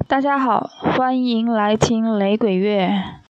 大家好，欢迎来听雷鬼乐。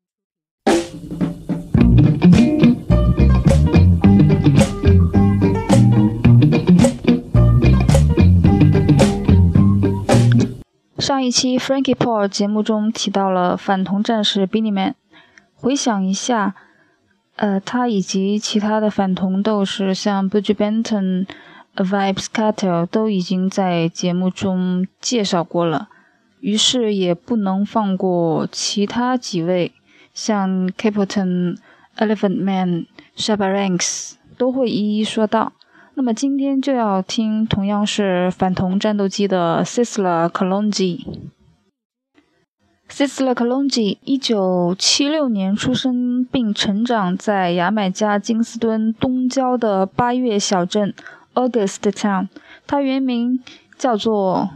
上一期 Frankie Paul 节目中提到了反同战士 Beenie Man， 回想一下，他以及其他的反同斗士像 Buju Banton、Vybz Kartel 都已经在节目中介绍过了，于是也不能放过其他几位，像 Capleton、Elephant Man、Shabba Ranks 都会一一说到。那么今天就要听同样是反同战斗机的 Sizzla Kalonji。Sizzla Kalonji 1976年出生并成长在牙买加金斯敦东郊的八月小镇 Auguste Town， 他原名叫做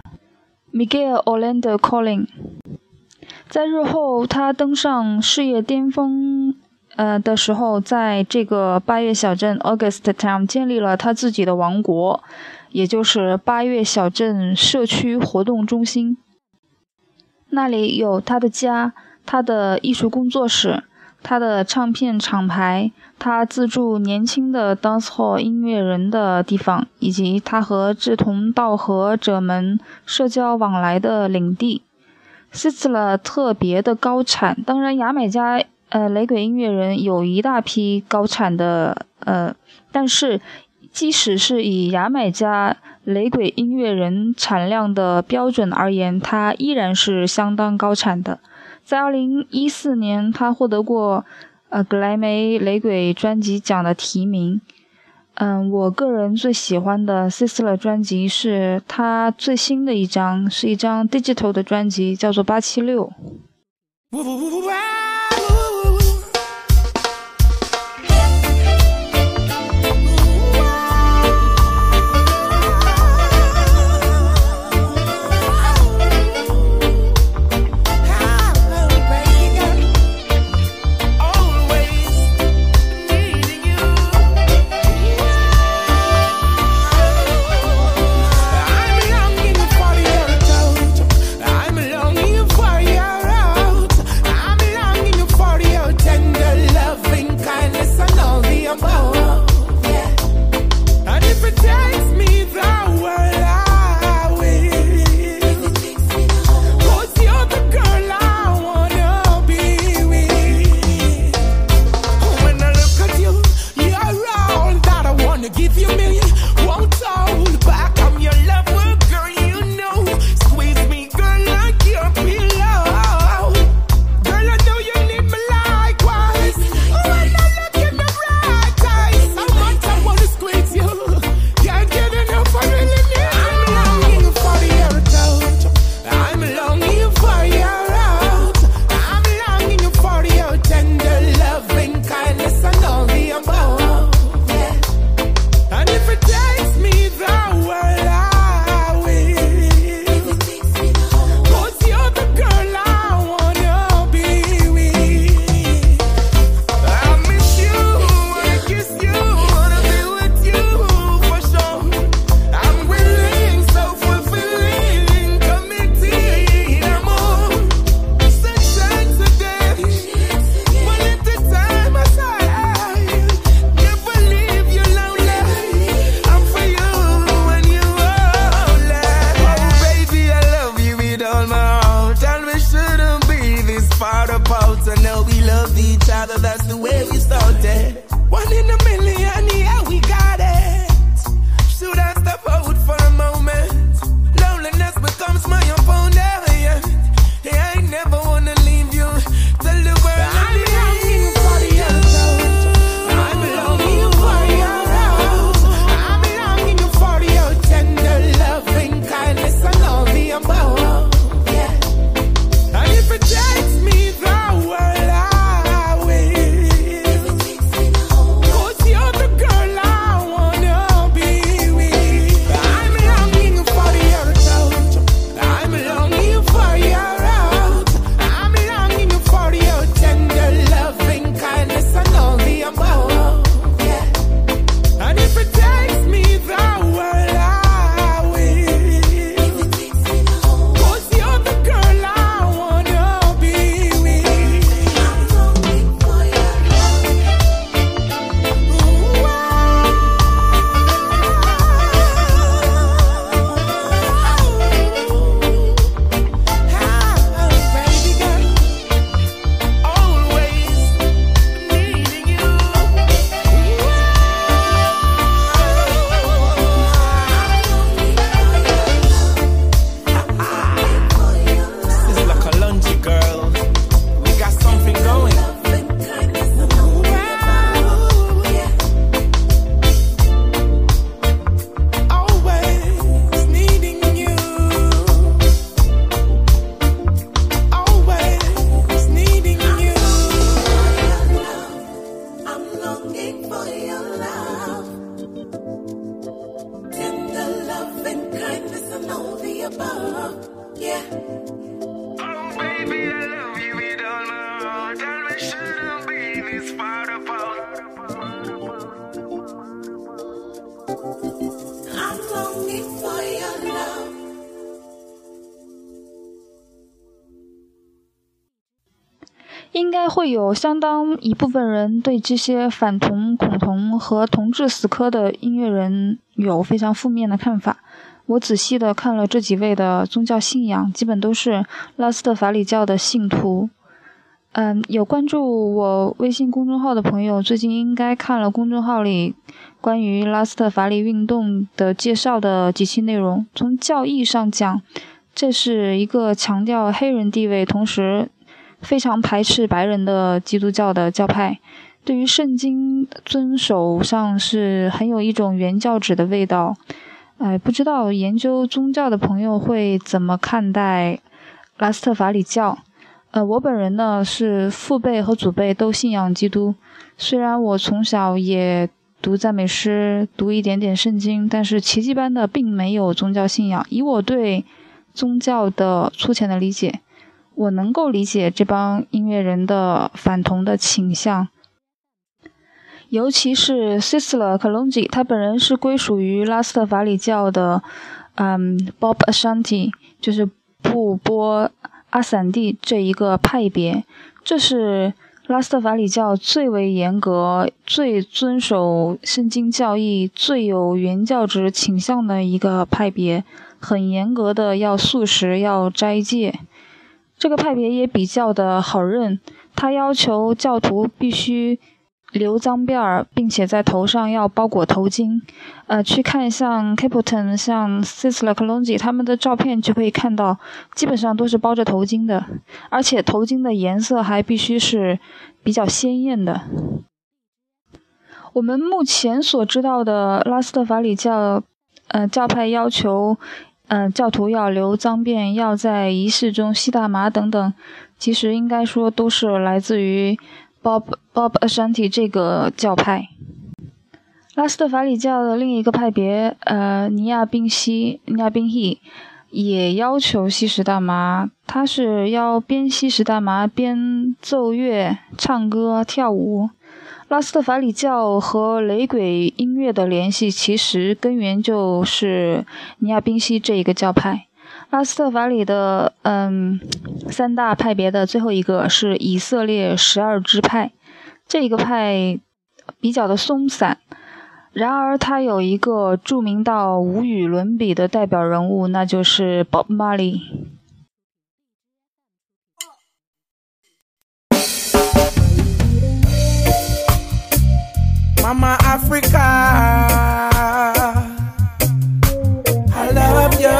Miguel Orlando Collin。 在日后他登上事业巅峰的时候，在这个八月小镇 Auguste Town 建立了他自己的王国，也就是八月小镇社区活动中心。那里有他的家，他的艺术工作室，他的唱片厂牌，他资助年轻的 dancehall 音乐人的地方，以及他和志同道合者们社交往来的领地。Sizzla 特别的高产，当然牙买加雷鬼音乐人有一大批高产的但是即使是以牙买加雷鬼音乐人产量的标准而言，它依然是相当高产的。在2014年他获得过格莱美雷鬼专辑奖的提名。我个人最喜欢的 Sizzla 专辑是他最新的一张，是一张 digital 的专辑，叫做876。 You're 应该会有相当一部分人对这些反同、恐同和同志死磕的音乐人有非常负面的看法。我仔细的看了这几位的宗教信仰，基本都是拉斯特法里教的信徒。有关注我微信公众号的朋友，最近应该看了公众号里关于拉斯特法里运动的介绍的几期内容。从教义上讲，这是一个强调黑人地位，同时非常排斥白人的基督教的教派，对于圣经遵守上是很有一种原教旨的味道。不知道研究宗教的朋友会怎么看待拉斯特法里教？我本人呢是父辈和祖辈都信仰基督，虽然我从小也读赞美诗，读一点点圣经，但是奇迹般的并没有宗教信仰。以我对宗教的粗浅的理解，我能够理解这帮音乐人的反同的倾向，尤其是 Sisla Kalonji， 他本人是归属于拉斯特法里教的Bob Ashanti， 就是布波阿散蒂这一个派别。这是拉斯特法里教最为严格、最遵守圣经教义、最有原教旨倾向的一个派别，很严格的要素食、要斋戒。这个派别也比较的好认，他要求教徒必须留脏辫儿，并且在头上要包裹头巾。去看像 Capleton、像 Sisla Kalonji 他们的照片就可以看到，基本上都是包着头巾的，而且头巾的颜色还必须是比较鲜艳的。我们目前所知道的拉斯特法里教教派要求教徒要留脏辫，要在仪式中吸大麻等等，其实应该说都是来自于Bob Ashanti 这个教派。拉斯特法里教的另一个派别尼亚宾希也要求吸食大麻，他是要边吸食大麻边奏乐、唱歌、跳舞。拉斯特法里教和雷鬼音乐的联系其实根源就是尼亚宾希这一个教派。拉斯特法里的三大派别的最后一个是以色列12支派，这个派比较的松散，然而他有一个著名到无与伦比的代表人物，那就是 Bob Marley。Mama Africa, I love you,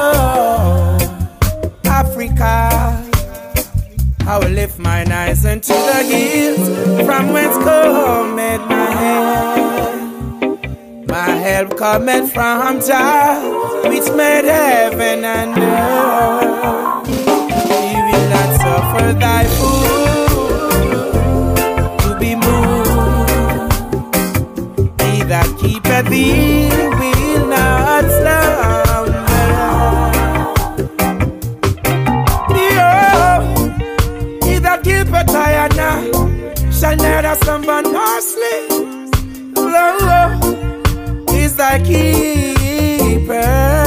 Africa. I will lift mine eyes unto the hills, from whence cometh my help. My help cometh from Jah, which made heaven and earth. He will not suffer thy foot to be moved. He that keepeth thee will not slumber. He that keepeth Diana shall neither slumber nor sleep. Lord is thy keeper.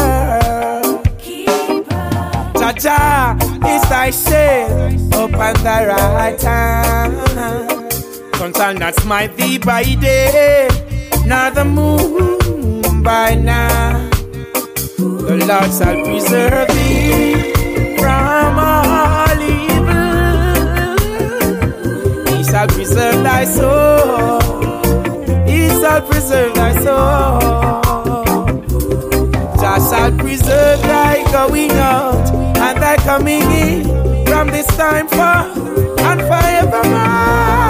Jah is thy shade upon thy right hand. Sun shall not smite thee by day, nor the moon by night. The Lord shall preserve thee from all evil. He shall preserve thy soul. He shall preserve thy soul. Jah shall preserve thy going out and thy coming in, from this time forth and forevermore.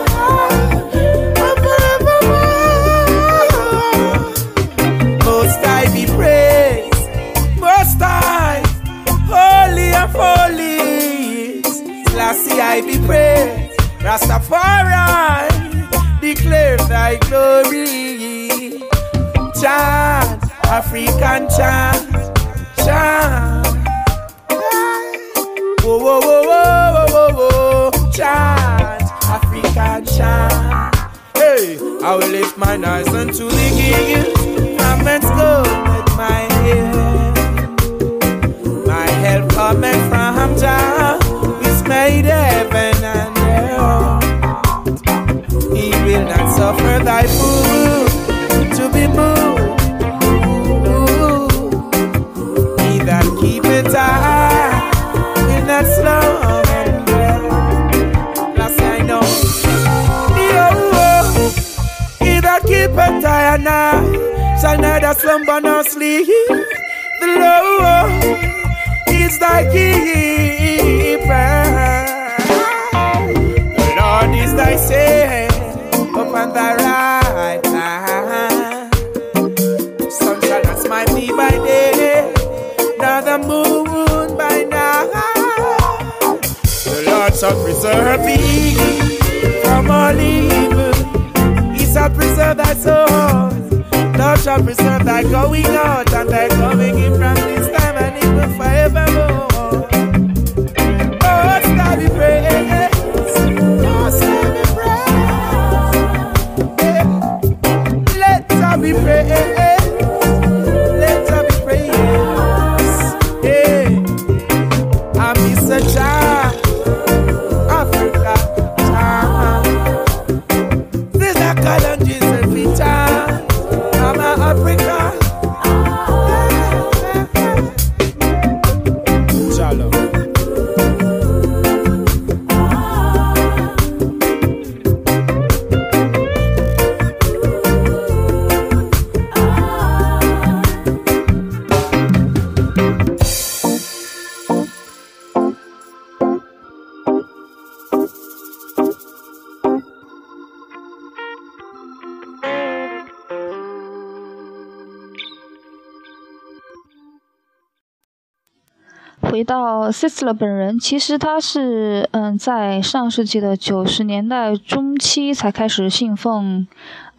Most High be praised, Most High, holy of holies. Selassie I be praised, Rastafari, declare thy glory. Chant, African chant, chant. whoa, whoa, whoa, whoa, whoa, whoa, whoa. Chant, African chant. Hey, I will lift my eyes unto the hills. Comments go with my head. My help coming from Jah, which made heaven and earth. He will not suffer thy food to be moved. He that keepeth high will not slumber. Last I know. He that keepeth high and high shall neither slumber nor sleep. The Lord is thy keeper. The Lord is thy savior upon thy right hand. The sun shall not smite thee by day, nor the moon by night. The Lord shall preserve thee from all evil. He shall preserve thy soul. Thou shalt preserve thy going out and thy coming in from this time and even forevermore. Oh, shall be praised. Oh, shall be praised. Let her be praised. Let her be praised. Yeah. I'm Mr. Child, Africa child. This is a calendar, every time. Africa. Shalom. 回到 Sisler 本人，其实他是在上世纪的90年代中期才开始信奉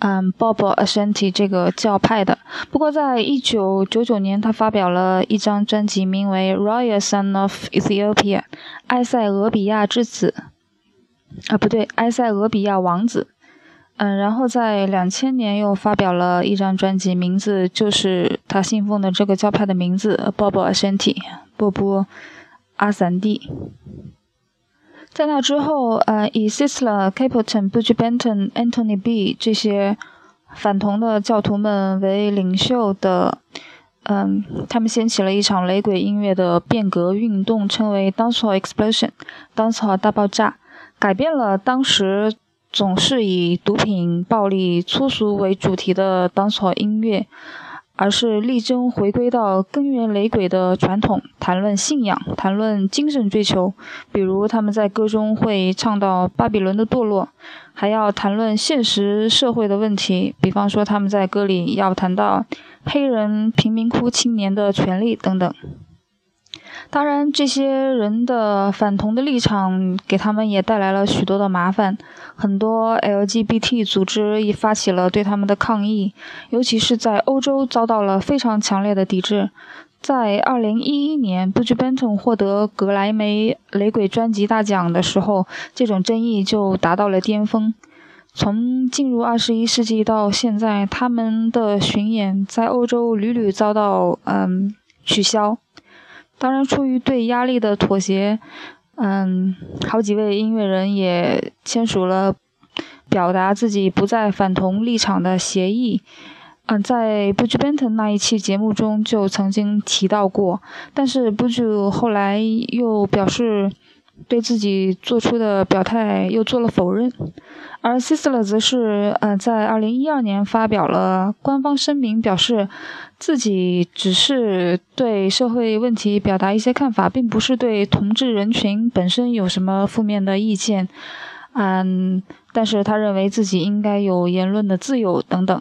Bobo Ashanti 这个教派的。不过在1999年，他发表了一张专辑，名为 Royal Son of Ethiopia 埃塞俄比亚之子埃塞俄比亚王子。然后在2000年又发表了一张专辑，名字就是他信奉的这个教派的名字 Bobo Ashanti 波波阿散蒂。在那之后以 Sisler、Capleton、Buju Benton、Anthony B 这些反同的教徒们为领袖的他们掀起了一场雷鬼音乐的变革运动，称为 Dancehall Explosion 当草大爆炸，改变了当时总是以毒品、暴力、粗俗为主题的dancehall音乐，而是力争回归到根源雷鬼的传统，谈论信仰，谈论精神追求。比如他们在歌中会唱到巴比伦的堕落，还要谈论现实社会的问题，比方说他们在歌里要谈到黑人贫民窟青年的权利等等。当然，这些人的反同的立场给他们也带来了许多的麻烦，很多 LGBT 组织也发起了对他们的抗议，尤其是在欧洲遭到了非常强烈的抵制。在2011年 Buju Benton 获得格莱美雷鬼专辑大奖的时候，这种争议就达到了巅峰。从进入21世纪到现在，他们的巡演在欧洲屡屡遭到取消。当然，出于对压力的妥协，好几位音乐人也签署了表达自己不再反同立场的协议。在 Buju Benton 那一期节目中就曾经提到过，但是 Buju 后来又表示对自己做出的表态又做了否认。而 Sisler 则是在2012年发表了官方声明，表示自己只是对社会问题表达一些看法，并不是对同志人群本身有什么负面的意见。但是他认为自己应该有言论的自由等等。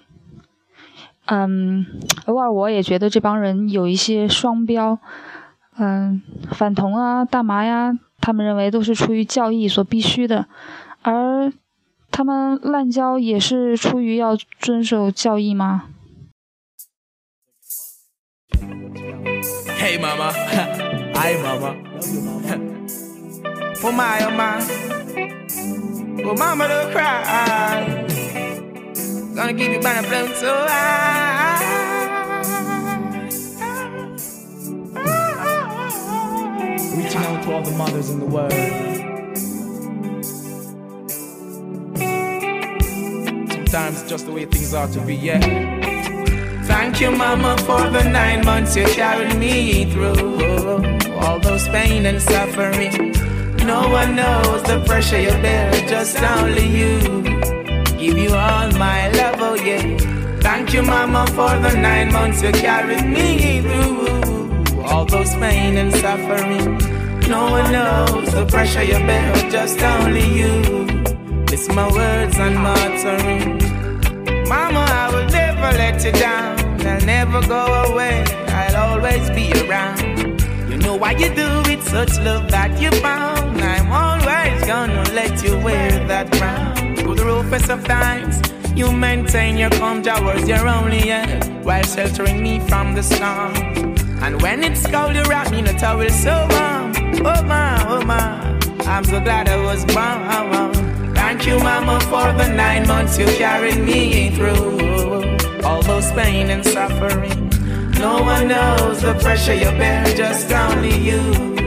偶尔我也觉得这帮人有一些双标。反同啊、大麻呀，他们认为都是出于教义所必须的，而他们滥交也是出于要遵守教义吗？ Hey mama, hi mama. Oh my, oh my. Oh mama, don't cry. Gonna keep you by the blown so high. Reaching out to all the mothers in the world. Sometimes it's just the way things are to be, yeah. Thank you, mama, for the 9 months you carried me through. All those pain and suffering. No one knows the pressure you bear, just only you. Give you all my love, oh yeah. Thank you, mama, for the 9 months you carried me through. All those pain and suffering. No one knows the pressure you bear, just only you. It's my words and my uttering. Mama, I will never let you down. I'll never go away. I'll always be around. You know why you do it, such love that you found. I'm always gonna let you wear that crown. Through the roughest of times, you maintain your calm towards your only end, while sheltering me from the storm. And when it's cold, you wrap me in a towel so warm. Oh my, oh my, I'm so glad I was born. Thank you, mama, for the 9 months you carried me through. All those pain and suffering. No one knows the pressure you bear, just only you.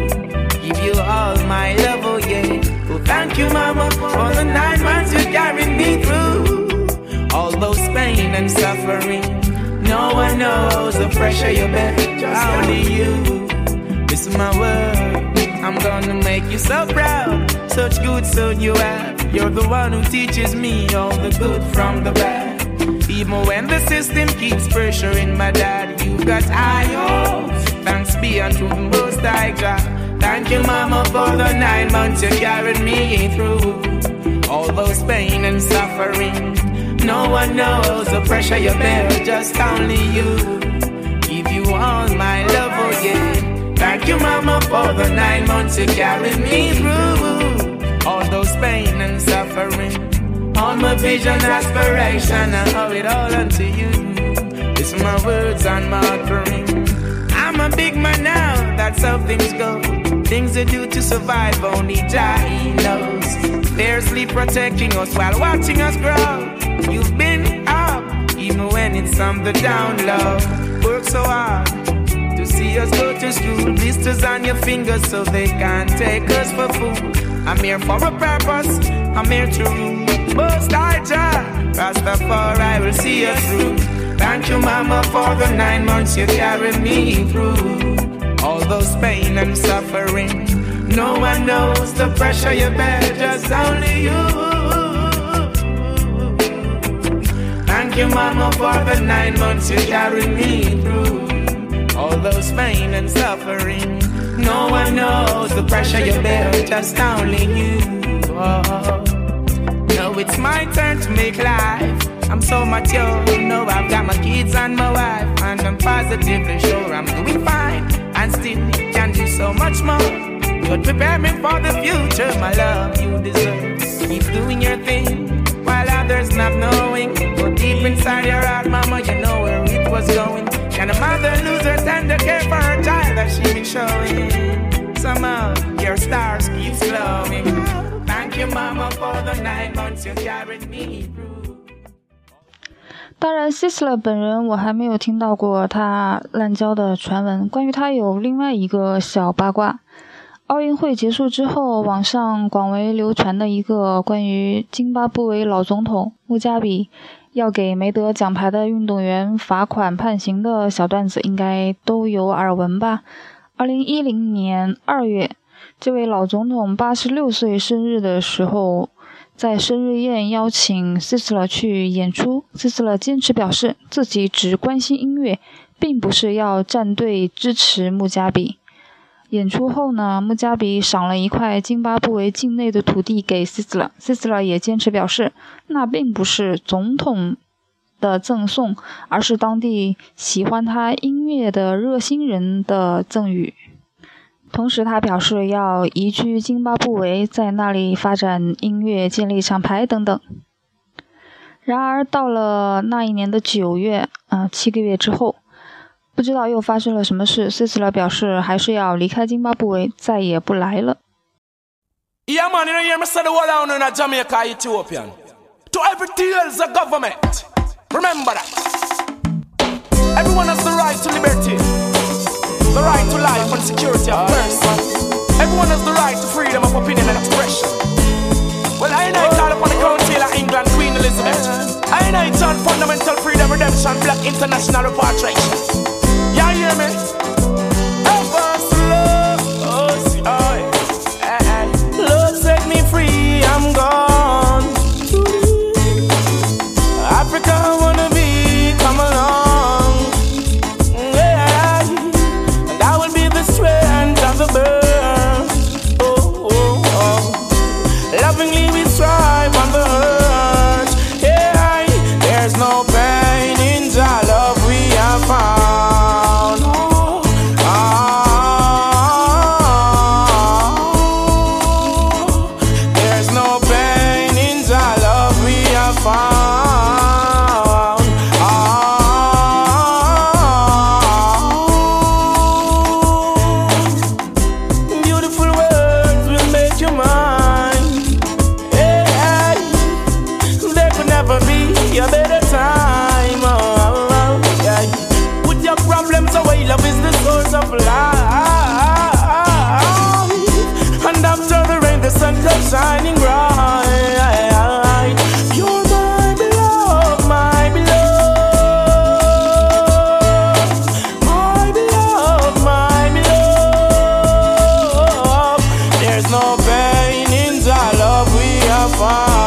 Give you all my love, oh yeah. Oh, thank you, mama, for the 9 months you carried me through. All those pain and suffering. No one knows the pressure you bear, just only you. This is my word. I'm gonna make you so proud. Such good son you have. You're the one who teaches me all the good from the bad. Even when the system keeps pressuring my dad, you got high hopes. Thanks be unto the Most High God. Thank you, mama, for the 9 months you carried me through. All those pain and suffering. No one knows the pressure you bear, just only you. Give you all my love, oh yeah. Thank you, mama, for the 9 months you carried me through. All those pain and suffering. All my vision, aspiration, I owe it all unto you. It's my words and my offering. I'm a big man now, that's how things go. Things you do to survive, only Jah knows. Fiercely protecting us while watching us grow. You've been up, even when it's on the down low. Work so hard to see us go to school. Blisters on your fingers so they can't take us for food. I'm here for a purpose, I'm here to rule. Most High Jah, Rastafari will see us through. Thank you, mama, for the 9 months you carried me through. All those pain and suffering. No one knows the pressure you bear, just only you. Thank you, mama, for the 9 months you carried me through. All those pain and suffering. No one knows the pressure you bear, just only you. Oh. Now it's my turn to make life. I'm so mature, you know I've got my kids and my wife. And I'm positively sure I'm doing fine. And still can do so much more. You'd prepare me for the future, my love you deserve. Keep doing your thing, while others not knowing. But deep inside your heart, mama, you know where it was going. Can a mother lose her tender care for her child that she been showing? Somehow your stars keeps glowing. Thank you, mama, for the 9 months you carried me through. 当然 Sisla 本人我还没有听到过他滥交的传闻。关于他有另外一个小八卦。奥运会结束之后，网上广为流传的一个关于津巴布韦老总统穆加比要给没得奖牌的运动员罚款判刑的小段子应该都有耳闻吧。2010年2月，这位老总统86岁生日的时候，在生日宴邀请 Sisla 去演出。 Sisla 坚持表示自己只关心音乐，并不是要站队支持穆加比。演出后呢，穆加比赏了一块津巴布韦境内的土地给 Sisla 也坚持表示那并不是总统的赠送，而是当地喜欢他音乐的热心人的赠予。同时他表示要移居津巴布韦，在那里发展音乐，建立厂牌等等。然而到了那一年的9月7个月之后，不知道又发生了什么事， Sisla 表示还是要离开津巴布韦，再也不来了。 Yeah, man, you know, hear me say the whole down in Jamaica, Ethiopian. To every tales of government. Remember that. Everyone has the right to liberty, the right to life and security of person. Everyone has the right to freedom of opinion and expression. Well, I call upon the Council of England, Queen Elizabeth. I on fundamental freedom, redemption, black international repatriation. You hear me? Help us, love. Oh, see, oh, yeah. Lord, set me free, I'm gone. Africa, I wanna be, come along. Yeah. And I will be the strength of the bird. Oh, oh, oh. Lovingly we strive on the earth. Yeah. There's no pain in the love we have found. Oh, oh. There's no pain in the love we have found. Love is the source of life, and after the rain, the sun comes shining bright. You're my beloved, my beloved, my beloved, my beloved. There's no pain in the love we have found.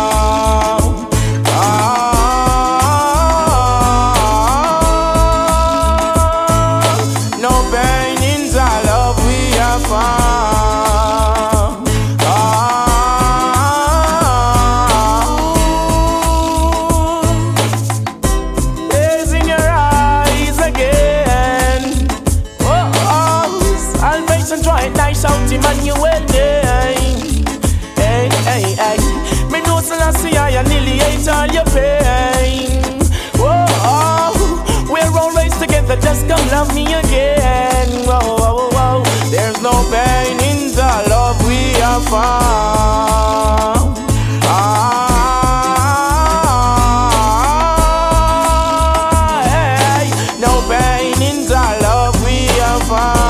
Emmanuel name. Hey, hey, hey. Me know Selassie, I annihilate all your pain. Whoa, we're always together, just come love me again. Whoa, whoa, whoa. There's no pain in the love we have found. Hey, no pain in the love we have found.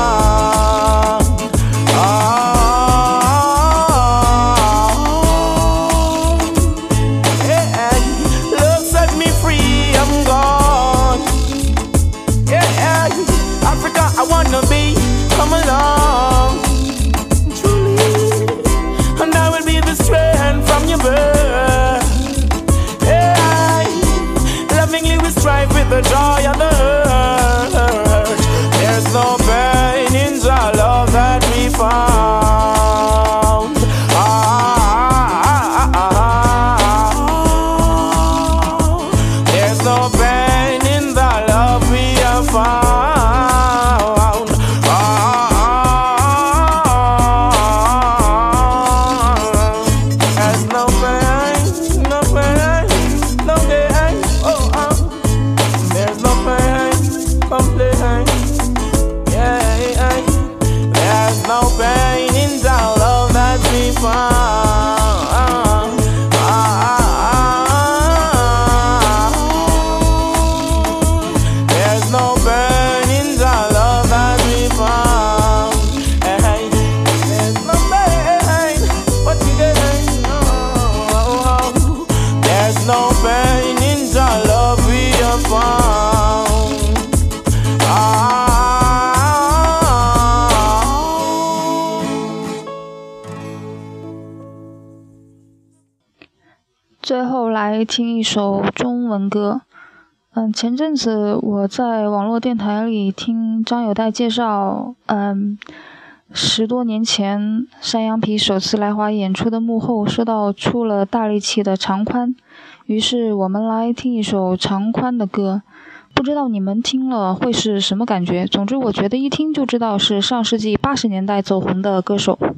The joy of the earth. There's no pain in the love that we found. There's no pain in the love we have found. There's no pain, no pain, no pain. Oh, there's no pain, complaint. Yeah, there's no pain in the love that we found. There's no pain in the love that we found. Hey, there's no pain, what you getting? There's no pain in the love we have found. 最后来听一首中文歌。前阵子我在网络电台里听张友代介绍，10多年前山羊皮首次来华演出的幕后，说到出了大力气的长宽，于是我们来听一首长宽的歌。不知道你们听了会是什么感觉？总之我觉得一听就知道是上世纪80年代走红的歌手。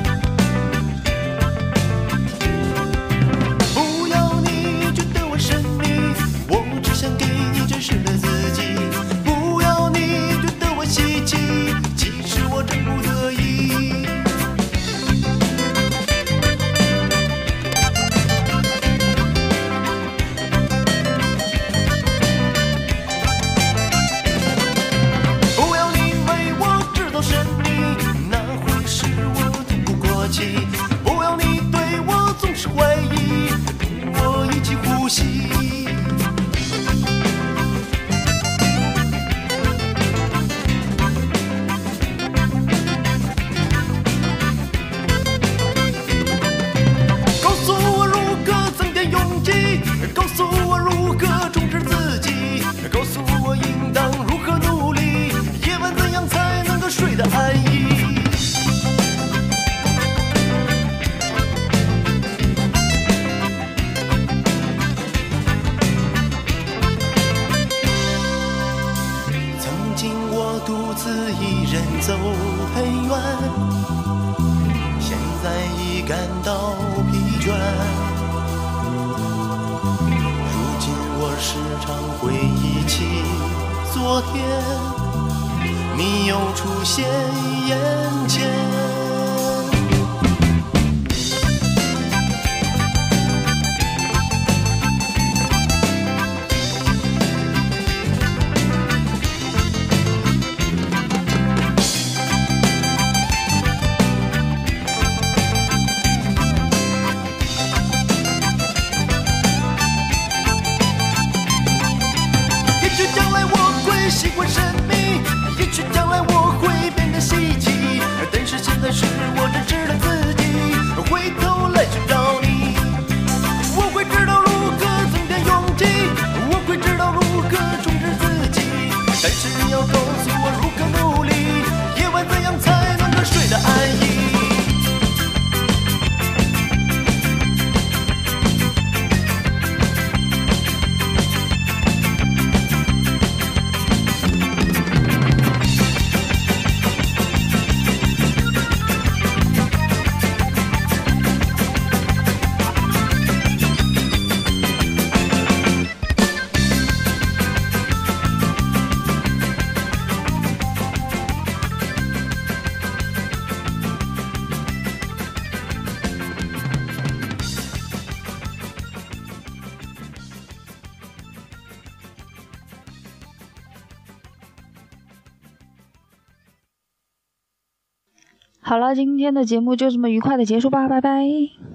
不要你觉得我深感到疲倦。如今我时常回忆起昨天，你又出现眼前。习惯神秘，也许将来我会变得稀奇，但是现在是我认识了自己，回头来寻找你。我会知道如何增添勇气，我会知道如何充实自己，但是你要告诉我如何努力，夜晚怎样才能够睡得安逸。 好了，今天的节目就这么愉快的结束吧，拜拜。